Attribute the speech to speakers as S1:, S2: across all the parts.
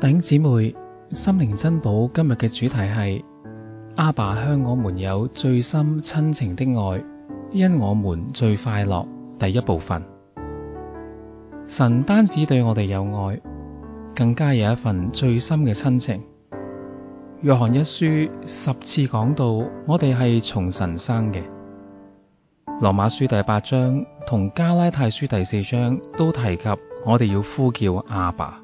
S1: 弟兄姊妹，心靈珍寶今日嘅主題係阿爸向我們有最深親情的愛，因我們最快樂。第一部分，神單止對我哋有愛，更加有一份最深嘅親情。約翰一書10次講到我哋係從神生嘅。羅馬書第8章同加拉太書第4章都提及我哋要呼叫阿爸。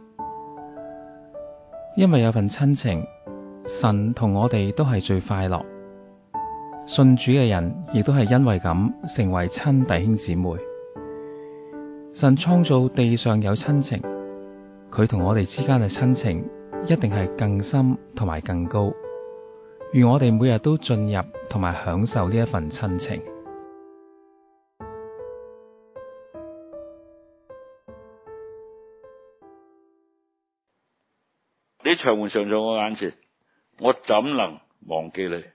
S1: 因為有份親情，神同我哋都係最快樂。信主嘅人亦都係因為咁成為親弟兄姊妹。神創造地上有親情，佢同我哋之間嘅親情一定係更深同埋更高。願我哋每日都進入同埋享受呢一份親情。
S2: 你長門常在我眼前，我怎能忘記你？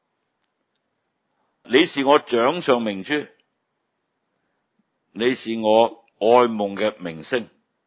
S2: 你是我掌上明珠，你是我愛夢嘅明星，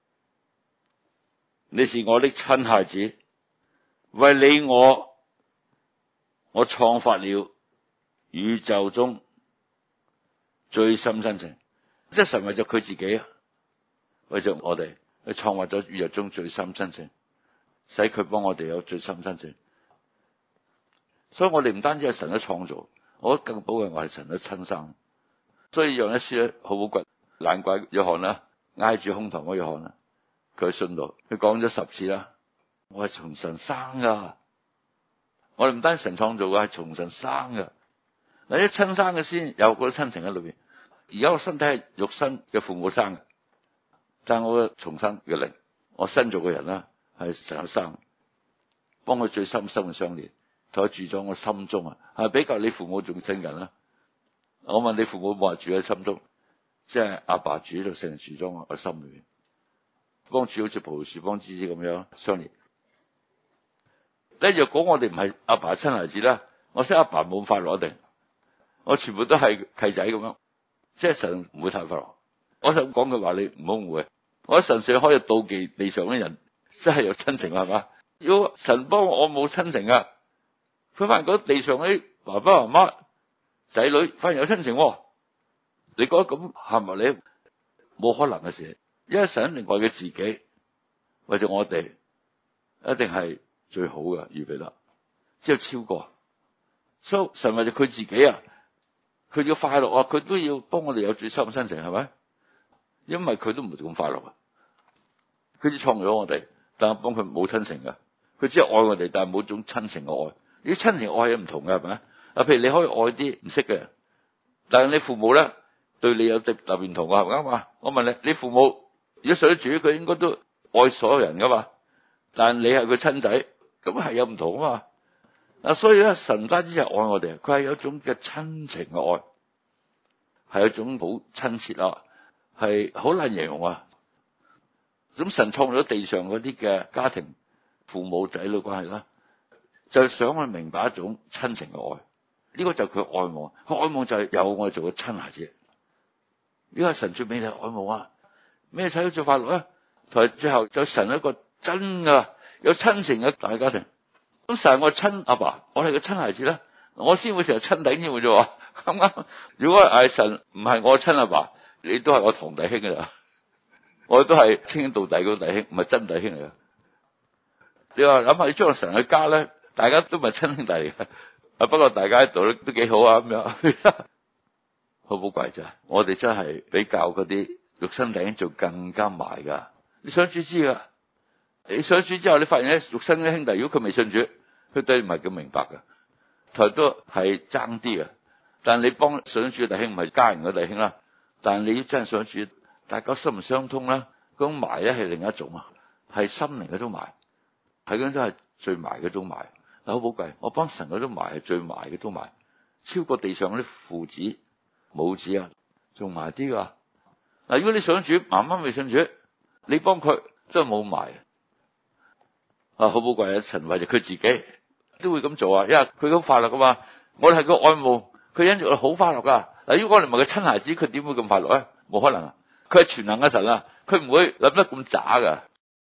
S2: 你是我的親孩子，為你我創發了宇宙中最深親情。即係神為咗佢自己啊，為咗我哋去創發咗宇宙中最深親情，使佢幫我哋有最深親情。所以我哋唔單止係神嘅創造，我覺得更寶貴，我係神嘅親生。所以讓一書咧好寶貴，難怪約翰啦挨住胸膛嗰約翰啦，佢信道佢講咗10次啦，我係從神生噶。我哋唔單止神創造嘅，係從神生噶。嗱，一親生嘅先有嗰啲親情喺裏邊。而家我身體係肉身嘅父母生嘅，但係我嘅重生嘅靈，我新造嘅人啦係神生，幫佢最深深嘅相連，同佢住咗我心中啊，係比較你父母仲親近啦。我問你父母冇話住喺心中，即係阿爸住喺度，聖靈住咗我嘅心裏面，幫住好似葡萄樹幫枝子咁樣相連。咧若果我哋唔係阿爸親孩子咧，我識阿爸冇咁快樂定，我全部都係契仔咁樣，即係神唔會太快樂。我想講句話，你唔好誤會，我神粹可以妒忌地上嘅人，真係有親情係嘛？如果神幫我冇親情啊，佢反而覺得地上啲爸爸媽媽仔女反而有親情，你覺得咁係咪你冇可能嘅事？因為神另外嘅自己為咗我哋，一定係最好嘅預備啦，只有超過。所以神為咗佢自己啊，佢要快樂啊，佢都要幫我哋有最深嘅親情，係咪？因為佢都唔係咁快樂啊，佢只創咗我哋，但係幫佢冇親情嘅，佢只係愛我哋，但係冇種親情嘅愛。啲親情愛係唔同嘅，係咪？啊，譬如你可以愛啲唔識嘅人，但係你父母咧對你有特別唔同嘅，係咪啊嘛？我問你，你父母如果信主，佢應該都愛所有人噶嘛？但係你係佢親仔，咁係有唔同啊嘛？啊，所以咧，神唔單止係愛我哋，佢係有一種嘅親情嘅愛，係一種好親切啊，係好難形容啊。咁神創造咗地上嗰啲嘅家庭，父母仔女關係啦，就係想去明白一種親情嘅愛。呢個就係佢愛慕，佢愛慕就係有我哋做個親孩子。呢個係神最美麗愛慕啊！咩使到最快樂咧？同埋最後就神一個真嘅有親情嘅大家庭。咁神係我親阿爸，我係個親孩子咧，我先會成日親弟兄嘅啫。啱啱？如果係神唔係我親阿爸，你都係我堂弟兄噶啦，我都係稱兄道弟嗰弟兄，唔係真弟兄嚟噶。你話諗下，你將神嘅家咧，大家都唔係親兄弟嚟嘅，啊不過大家喺度都幾好啊咁樣，好寶貴咋？我哋真係比較嗰啲肉身弟兄做更加埋噶。你想主知噶？你信主之後，你發現咧，肉身嘅兄弟，如果佢未信主，佢對你唔係咁明白噶，台都係爭啲嘅。但係你幫信主嘅弟兄唔係家人嘅弟兄啦，但係你真係信主，大家心唔相通啦，嗰種埋咧係另一種啊，係心靈嗰種埋，係嗰種都係最埋嗰種埋。嗱，好寶貴，我幫神嗰種埋係最埋嗰種埋，超過地上嗰啲父子母子啊，仲埋啲噶。嗱，如果你信主，媽媽未信主，你幫佢真係冇埋。啊，好寶貴啊！神為咗佢自己都會咁做啊，因為佢咁快樂噶嘛。我哋係個愛慕，佢因住我好快樂噶。嗱，如果我哋唔係佢親孩子，佢點會咁快樂咧？冇可能啊！佢係全能嘅神啊，佢唔會諗得咁渣噶。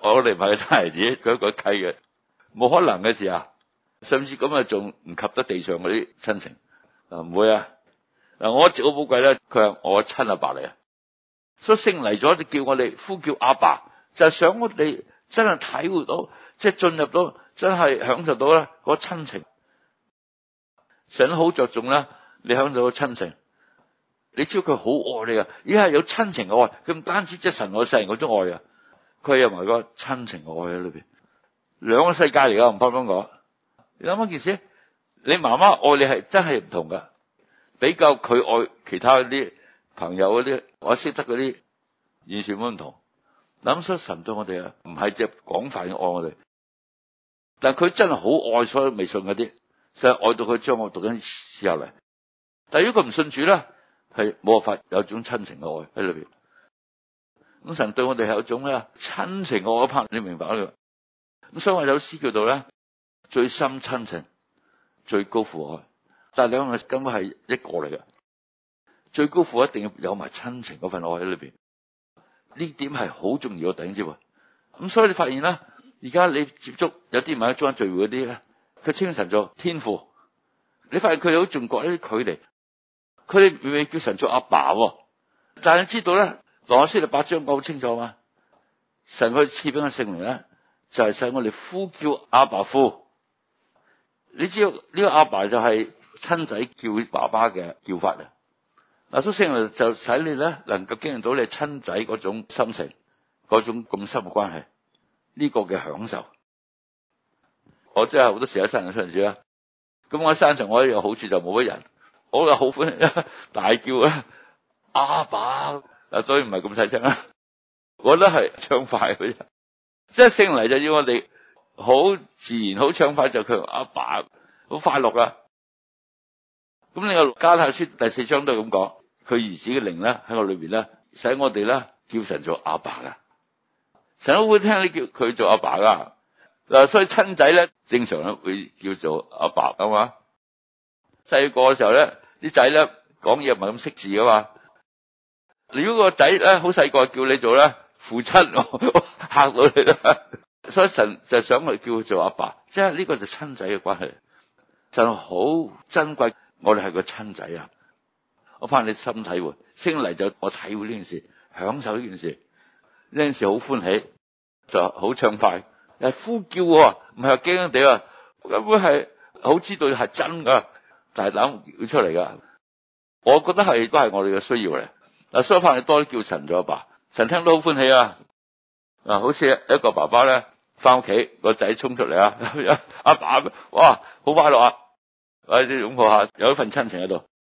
S2: 我哋唔係佢親孩子，佢一個契嘅，冇可能嘅事啊！甚至咁啊，仲唔及得地上嗰啲親情啊？唔會啊！嗱，我一直好寶貴咧，佢係我親阿爸嚟啊！所以聖嚟咗就叫我哋呼叫阿爸，就係想我哋真係體會到，即係進入到，真係享受到咧嗰親情。神好着重啦，你享受到親情，你知道佢好愛你啊！而係有親情嘅愛，佢唔單止即係神愛世人嗰種愛啊，佢有埋個親情嘅愛喺裏邊，兩個世界嚟噶，唔怕咁講。你諗一件事，你媽媽愛你係真係唔同噶，比較佢愛其他嗰啲朋友嗰啲，我識得嗰啲，完全唔同。諗出神對我哋啊，唔係只廣泛嘅愛我哋，但係佢真係好愛所有未信嗰啲，就係愛到佢將我讀緊時候嚟。但係如果佢唔信主咧，係冇辦法有種親情嘅愛喺裏邊。咁神對我哋係有一種咧親情嘅愛拍，你明白啊？咁所以我有詩叫做咧最深親情，最高父愛。但係兩個根本係一個嚟嘅，最高父一定要有埋親情嗰份愛喺裏邊。呢點係好重要嘅，弟兄姊妹。咁所以你發現啦，而家你接觸有啲唔係中間聚會嗰啲咧，佢稱神做天父，你發現佢哋好重覺一啲距離，佢哋未叫神做阿爸，但係你知道咧，羅馬書第8章講好清楚嘛，神佢賜俾我聖靈咧，就係使我哋呼叫阿爸父。你知道呢個阿爸就係親仔叫爸爸嘅叫法啊！嗱，所以聖靈就使你咧能夠經歷到你親仔嗰種心情，嗰種咁深嘅關係，呢個嘅享受。我真係好多時喺山上親住啦，咁我喺山上我有好處就冇乜人，我又好歡喜大叫啊阿爸，嗱，所以唔係咁細聲啦，我覺得係暢快嘅啫，即係聖靈就要我哋好自然好暢快就佢阿爸好快樂噶。咁你個加拉太書第4章都係咁講，佢兒子嘅靈咧喺我裏邊咧，使我哋咧叫神做阿爸噶，神都會聽你叫佢做阿爸噶。嗱，所以親仔咧正常咧會叫做阿爸啊嘛。細個嘅時候咧，啲仔咧講嘢唔係咁識字噶嘛。如果個仔咧好細個叫你做咧父親，嚇到你啦。所以神就想我哋叫佢做阿爸，即係呢個就親仔嘅關係。神好珍貴。我哋係個親仔啊！我怕你心體會，升嚟就我體會呢件事，享受呢件事，呢件事好歡喜，就好暢快，係呼叫，唔係話驚驚地啊！根本係好知道係真噶，大膽叫出嚟噶。我覺得係都係我哋嘅需要嚟。嗱，所以怕你多啲叫神做阿爸，神聽到好歡喜啊！嗱，好似一個爸爸咧，翻屋企個仔衝出嚟啊，阿爸，哇，好快樂啊！我哋擁抱下，有一份親情喺度。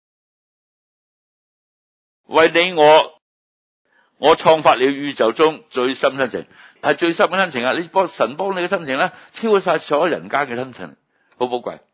S2: 為你我創發了宇宙中最深親情，係最深嘅親情啊！你神幫你嘅親情咧，超過晒所有人間嘅親情，好寶貴。